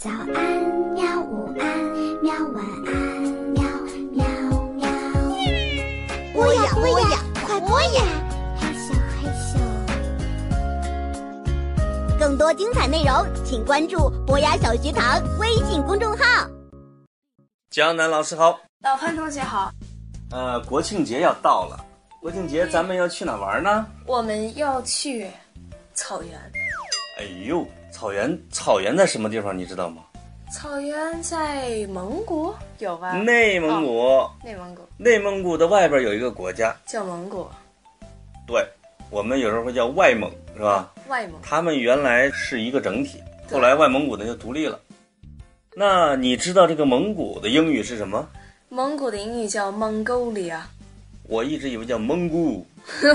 早安喵，午安喵，晚安喵喵喵。 播呀播呀，快播呀！ 嘿咻嘿咻。 更多精彩内容，请关注博雅小学堂微信公众号。 江南老师好， 老潘同学好。 国庆节要到了，国庆节咱们要去哪玩呢？ 我们要去草原。 哎呦，草原在什么地方你知道吗？ 草原在蒙古有吧？ 内蒙古。内蒙古的外边有一个国家叫蒙古。 对，我们有时候会叫外蒙，是吧？ 外蒙。 他们原来是一个整体，后来外蒙古呢就独立了。那你知道这个蒙古的英语是什么？ 蒙古的英语叫 Mongolia。 我一直以为叫蒙古。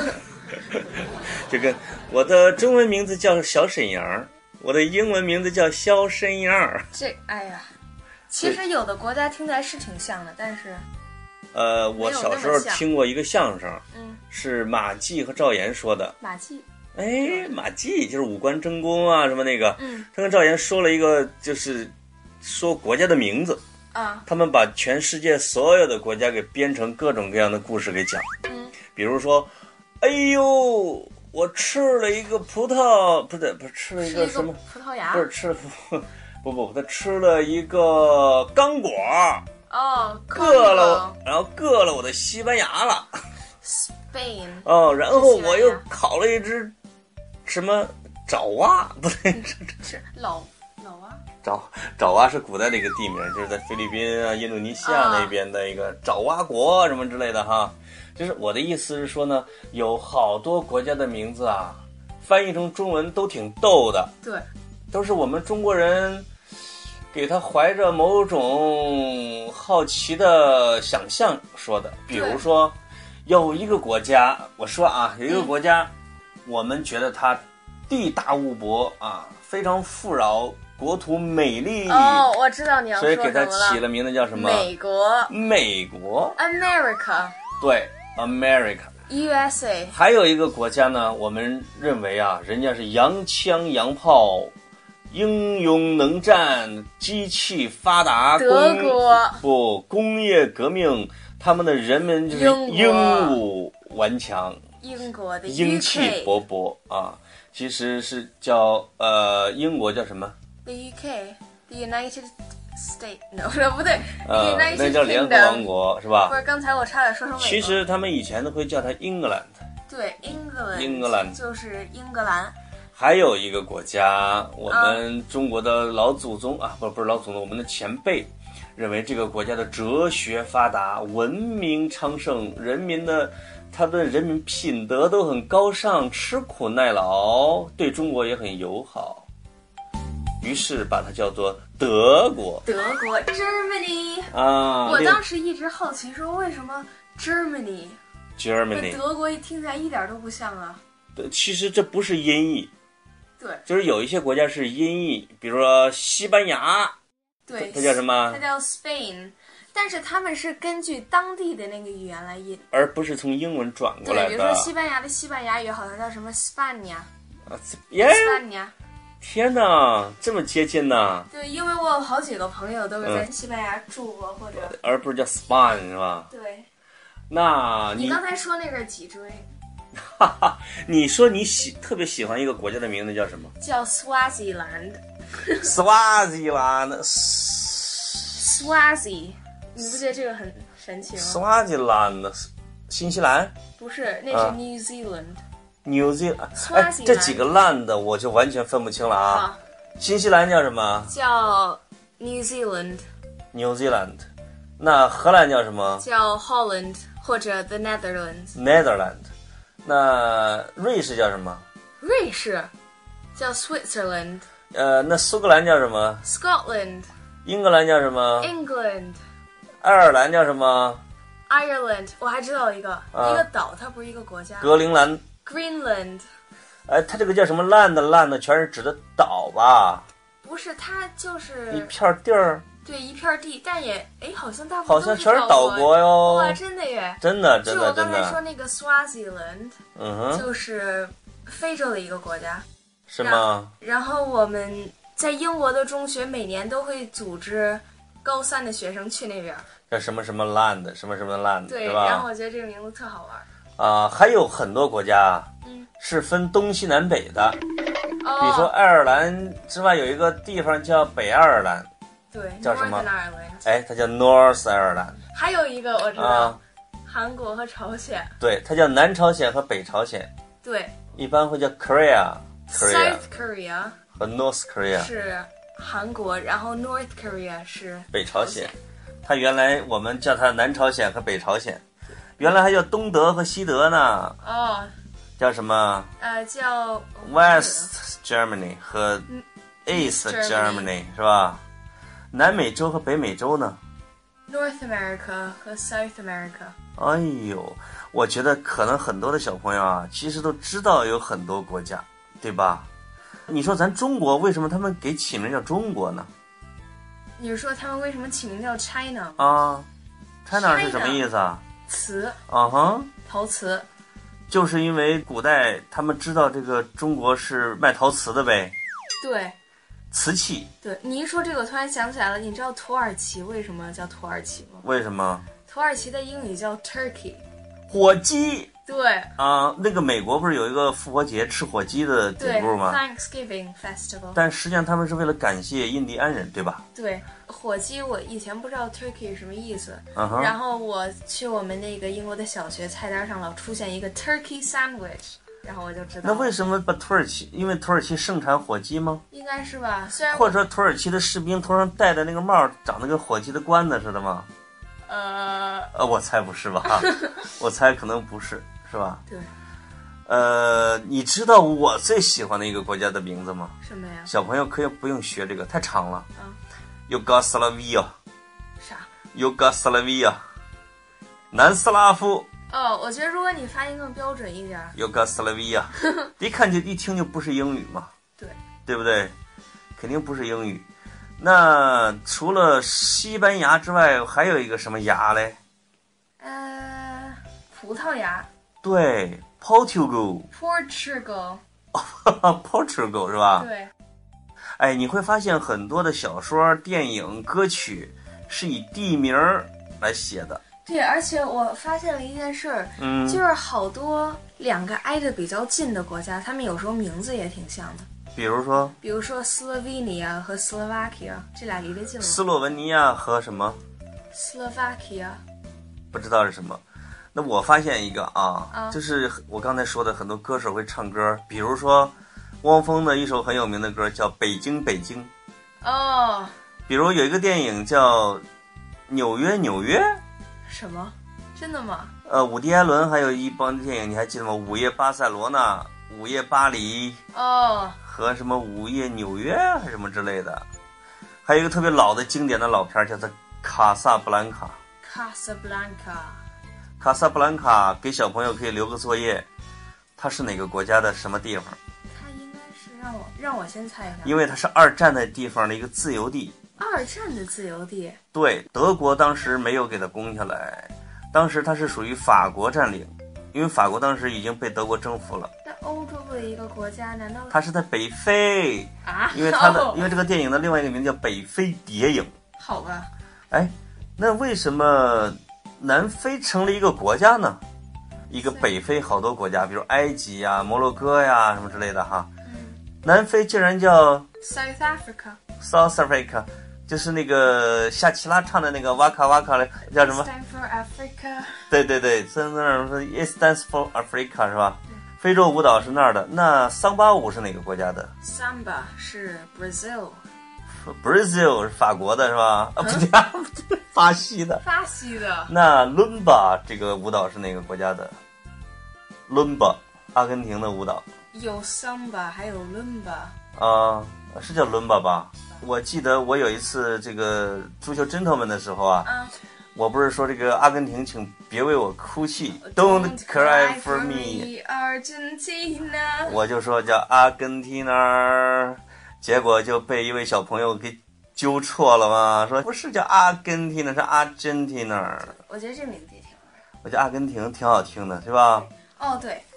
这个我的中文名字叫小沈阳，我的英文名字叫肖申阳。 哎呀，其实有的国家听起来是挺像的，但是我小时候听过一个相声，是马季和赵岩说的。 马季， 马季就是五官争功啊什么那个，他跟赵岩说了一个，就是说国家的名字啊，他们把全世界所有的国家给编成各种各样的故事给讲，比如说，哎呦，我吃了一个葡萄，不是吃了一个什么葡萄牙， 不是吃了不，他吃了一个刚果。硌了，然后硌了我的西班牙了。 Spain。 然后我又烤了一只什么爪哇，不对， 是老蛙。 爪哇是古代的一个地名，就是在菲律宾啊、印度尼西亚那边的一个爪哇国什么之类的哈。就是我的意思是说呢，有好多国家的名字啊，翻译成中文都挺逗的。 对， 都是我们中国人给他怀着某种好奇的想象说的。比如说有一个国家，我说啊，有一个国家，我们觉得它地大物博啊，非常富饶，国土美丽。 我知道你要说什么了。 所以给它起了名字叫什么？美国 America。 对， America USA。 还有一个国家呢，我们认为啊，人家是洋枪洋炮，英勇能战，机器发达， 德国工业革命，他们的人们就是英武顽强， 英国的英气勃勃啊。其实是叫英国叫什么 ？The UK， The United States， 不对， 那叫联合王国是吧？ 不是，刚才我差点说成美国。 其实他们以前都会叫它英格兰。 对， 英格兰就是英格兰。 还有一个国家，我们中国的老祖宗啊，不是老祖宗，我们的前辈认为这个国家的哲学发达，文明昌盛，他的人民品德都很高尚，吃苦耐劳，对中国也很友好，于是把它叫做德国 Germany 啊。 我当时一直好奇说，为什么 Germany 跟德国听起来一点都不像啊？ 对，其实这不是音译。 对， 就是有一些国家是音译，比如说西班牙， 对， 它叫什么？ 它叫 Spain， 但是他们是根据当地的那个语言来译， 而不是从英文转过来的。 对，比如说西班牙的西班牙语好像叫什么 Spania。 天哪，这么接近呢？ 对，因为我有好几个朋友都是在西班牙住过，或者而不是叫 Spain 是吧？ 对。 那你刚才说那个脊椎。 你说你特别喜欢一个国家的名字叫什么？ 叫 Swaziland。Swazi， 你不觉得这个很神奇吗 ？Swaziland， 新西兰？ 不是，那是 New Zealand。New Zealand， 这几个 land 我就完全分不清了啊。新西兰叫什么？ 叫 New Zealand。New Zealand。那荷兰叫什么？ 叫 Holland 或者 The Netherlands。 那瑞士叫什么？ 瑞士叫 Switzerland。 那苏格兰叫什么 ？Scotland。 英格兰叫什么 ？England。 爱尔兰叫什么 ？Ireland。我还知道一个岛，它不是一个国家。 格陵兰。 Greenland。 它这个叫什么land 全是指的岛吧？ 不是，它就是一片地儿。 对，一片地，但也好像大部分好像全是岛国哟。 哇，真的耶！ 真的。 就我刚才说那个 Swaziland，就是非洲的一个国家。 是吗？ 然后我们在英国的中学每年都会组织高3的学生去那边， 叫什么什么 land 什么什么 land， 对， 是吧？ 然后我觉得这个名字特好玩还有很多国家是分东西南北的，比如说爱尔兰之外有一个地方叫北爱尔兰， 对， 叫什么 Northern Ireland， 哎，它叫 North 爱尔兰。 还有一个我知道，韩国和朝鲜， 对，它叫南朝鲜和北朝鲜， 对， 一般会叫 Korea South Korea 和 North Korea 是韩国，然后 North Korea 是北朝鲜。它原来我们叫它南朝鲜和北朝鲜，原来还叫东德和西德呢。叫什么？ 叫 West Germany 和 East Germany 是吧？南美洲和北美洲呢？ North America 和 South America。 哎呦，我觉得可能很多的小朋友啊，其实都知道有很多国家，对吧？你说咱中国为什么他们给起名叫中国呢？ 你是说他们为什么起名叫 China 啊 China 是什么意思啊？ 瓷，陶瓷。 就是因为古代他们知道这个中国是卖陶瓷的呗。 对， 瓷器。 对，你一说这个我突然想起来了，你知道土耳其为什么叫土耳其吗？ 为什么？ 土耳其的英语叫 Turkey， 火鸡。 对那个美国不是有一个复活节吃火鸡的典故吗？ Thanksgiving Festival。 但实际上他们是为了感谢印第安人，对吧？ 对，火鸡我以前不知道 Turkey 是什么意思，然后我去我们那个英国的小学菜单上老出现一个 Turkey Sandwich， 然后我就知道。 那为什么把土耳其？因为土耳其盛产火鸡吗？ 应该是吧，虽然或者说土耳其的士兵头上戴的那个帽长得跟火鸡的冠子似的吗？我猜不是吧？我猜可能不是，是吧？ 对。 你知道我最喜欢的一个国家的名字吗？ 什么呀？ 小朋友可以不用学这个，太长了。尤加斯拉维亚。 啥？ 尤加斯拉维亚，南斯拉夫。 我觉得如果你发音更标准一点。 尤加斯拉维亚，一听就不是英语嘛。 对。对不对？肯定不是英语。那除了西班牙之外，还有一个什么牙嘞？ 葡萄牙。 对 ，Portugal 是吧？ 对。 哎，你会发现很多的小说、电影、歌曲是以地名来写的。 对，而且我发现了一件事儿，就是好多两个挨着比较近的国家，他们有时候名字也挺像的。比如说斯洛维尼亚和斯洛伐克，这俩离得近吗？ 斯洛文尼亚和什么？ 斯洛伐克， 不知道是什么。那我发现一个就是我刚才说的很多歌手会唱歌，比如说汪峰的一首很有名的歌叫《北京北京》。比如有一个电影叫《纽约纽约》。 什么？真的吗？ 伍迪·艾伦还有一帮电影，你还记得吗？午夜巴塞罗那、午夜巴黎，和什么午夜纽约还是什么之类的。还有一个特别老的经典的老片叫做《卡萨布兰卡》。卡萨布兰卡给小朋友可以留个作业，它是哪个国家的什么地方？ 它应该是让我先猜一下。 因为它是二战的地方的一个自由地。 二战的自由地？对， 德国当时没有给它攻下来，当时它是属于法国占领，因为法国当时已经被德国征服了。 那欧洲的一个国家，难道它是在北非啊？ 因为这个电影的另外一个名叫《北非谍影》。 好吧。 哎，那为什么南非成了一个国家呢？一个北非好多国家，比如埃及呀、摩洛哥呀什么之类的哈。南非竟然叫 South Africa。 就是那个夏奇拉唱的那个哇卡哇卡的叫什么 ？Stand for Africa。 对，在那儿说 It stands for Africa 是吧？非洲舞蹈是那儿的。那桑巴舞是哪个国家的？ Samba 是 Brazil 是法国的是吧？不对，巴西的。那伦巴这个舞蹈是哪个国家的？伦巴，阿根廷的舞蹈。 有 Samba 还有伦巴。 是叫伦巴吧？我记得我有一次这个足球 gentleman 的时候我不是说这个阿根廷请别为我哭泣 Don't cry for me Argentina， 我就说叫阿根廷那，结果就被一位小朋友给纠错了嘛，说不是叫阿根廷，是阿根廷那。 我觉得这名字也挺好玩， 我觉得阿根廷挺好听的，是吧？ 对，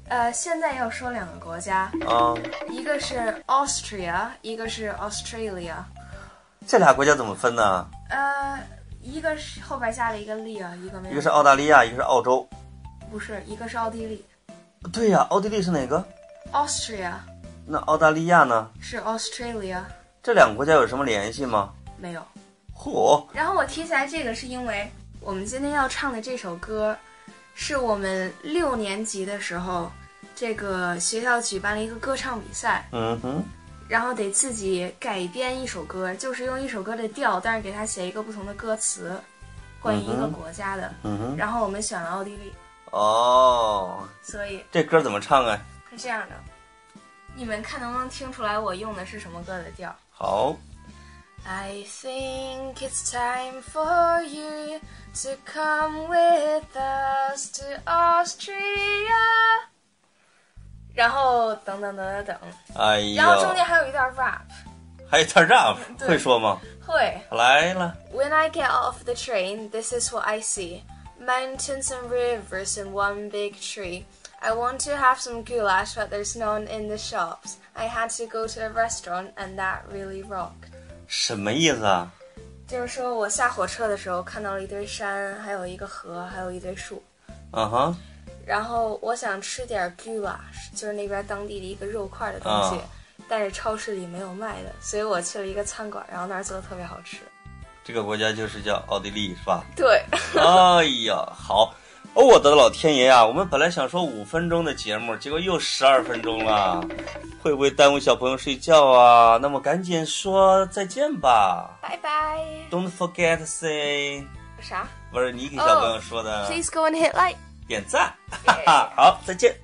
现在要说2个国家一个是 Austria， 一个是 Australia。 这俩国家怎么分呢？ 一个是后边加了一个利啊，一个没有。 一个是澳大利亚，一个是澳洲。 不是，一个是奥地利。 对呀，奥地利是哪个 ？Austria。 那澳大利亚呢？ 是 Australia。 这2个国家有什么联系吗？ 没有。 嚯！ 然后我提起来这个是因为我们今天要唱的这首歌，是我们6年级的时候，这个学校举办了一个歌唱比赛。然后得自己改编一首歌，就是用一首歌的调，但是给它写一个不同的歌词，关于一个国家的。然后我们选了奥地利。所以这歌怎么唱啊？ 是这样的，你们看能不能听出来我用的是什么歌的调？ 好。 I think it's time for you to come with us to Austria。然后等， 哎呀， 然后中间还有一段 rap， 还有一段 rap， 会说吗？ 会。 来了。 When I get off the train, this is what I see: mountains and rivers in one big tree. I want to have some goulash, but there's none in the shops. I had to go to a restaurant, and that really rocked. 什么意思啊？ 就是说我下火车的时候看到了一堆山，还有一个河，还有一堆树。然后我想吃点 goulash， 就是那边当地的一个肉块的东西，但是超市里没有卖的，所以我去了一个餐馆，然后那儿做的特别好吃。 这个国家就是叫奥地利，是吧？ 对。 哎呀，好。我的老天爷啊！我们本来想说5分钟的节目，结果又12分钟了，会不会耽误小朋友睡觉啊？那么赶紧说再见吧， 拜拜。 Don't forget to say 啥？ 不是你给小朋友说的。 Please go and hit like。 点赞。好，再见。